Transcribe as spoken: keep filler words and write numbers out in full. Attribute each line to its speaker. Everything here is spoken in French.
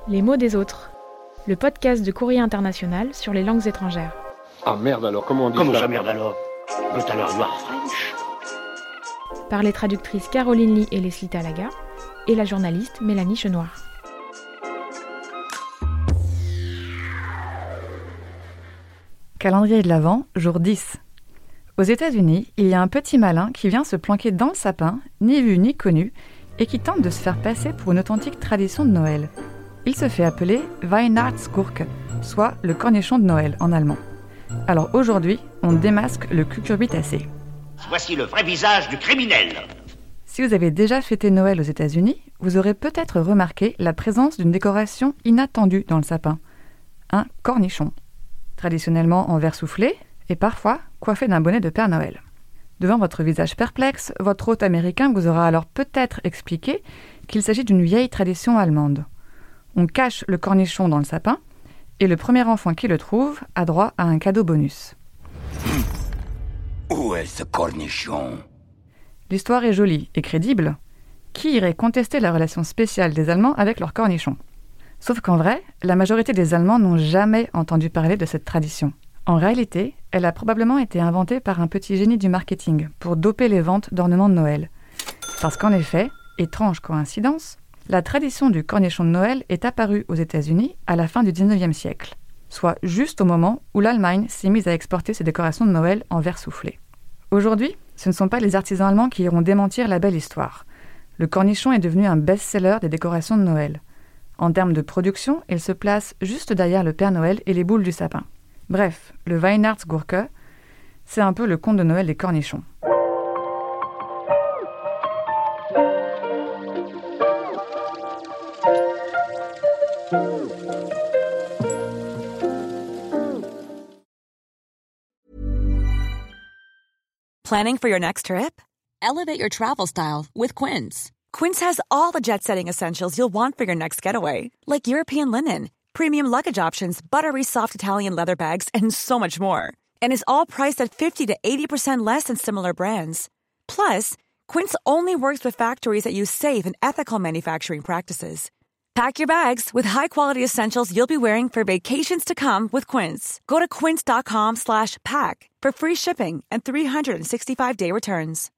Speaker 1: Les mots des autres, le podcast de Courrier International sur les langues étrangères.
Speaker 2: Ah merde alors, comment on dit
Speaker 3: Comment
Speaker 2: ça
Speaker 3: ça merde alors? But alors you are French.
Speaker 1: Par les traductrices Caroline Lee et Leslie Talaga et la journaliste Mélanie Chenoir.
Speaker 4: Calendrier de l'Avent, jour dix. Aux États-Unis, il y a un petit malin qui vient se planquer dans le sapin, ni vu ni connu, et qui tente de se faire passer pour une authentique tradition de Noël. Il se fait appeler Weihnachtsgurke, soit le cornichon de Noël en allemand. Alors aujourd'hui, on démasque le cucurbitacé.
Speaker 3: Voici le vrai visage du criminel.
Speaker 4: Si vous avez déjà fêté Noël aux États-Unis, vous aurez peut-être remarqué la présence d'une décoration inattendue dans le sapin. Un cornichon. Traditionnellement en verre soufflé et parfois coiffé d'un bonnet de Père Noël. Devant votre visage perplexe, votre hôte américain vous aura alors peut-être expliqué qu'il s'agit d'une vieille tradition allemande. On cache le cornichon dans le sapin et le premier enfant qui le trouve a droit à un cadeau bonus.
Speaker 3: Où est ce cornichon?
Speaker 4: L'histoire est jolie et crédible. Qui irait contester la relation spéciale des Allemands avec leur cornichon? Sauf qu'en vrai, la majorité des Allemands n'ont jamais entendu parler de cette tradition. En réalité, elle a probablement été inventée par un petit génie du marketing pour doper les ventes d'ornements de Noël. Parce qu'en effet, étrange coïncidence, la tradition du cornichon de Noël est apparue aux États-Unis à la fin du dix-neuvième siècle, soit juste au moment où l'Allemagne s'est mise à exporter ses décorations de Noël en verre soufflé. Aujourd'hui, ce ne sont pas les artisans allemands qui iront démentir la belle histoire. Le cornichon est devenu un best-seller des décorations de Noël. En termes de production, il se place juste derrière le Père Noël et les boules du sapin. Bref, le Weihnachtsgurke, c'est un peu le conte de Noël des cornichons.
Speaker 5: Planning for your next trip? Elevate your travel style with Quince. Quince has all the jet-setting essentials you'll want for your next getaway, like European linen, premium luggage options, buttery soft Italian leather bags, and so much more. And is all priced at fifty to eighty percent less than similar brands. Plus, Quince only works with factories that use safe and ethical manufacturing practices. Pack your bags with high-quality essentials you'll be wearing for vacations to come with Quince. Go to quince.com slash pack for free shipping and three sixty-five day returns.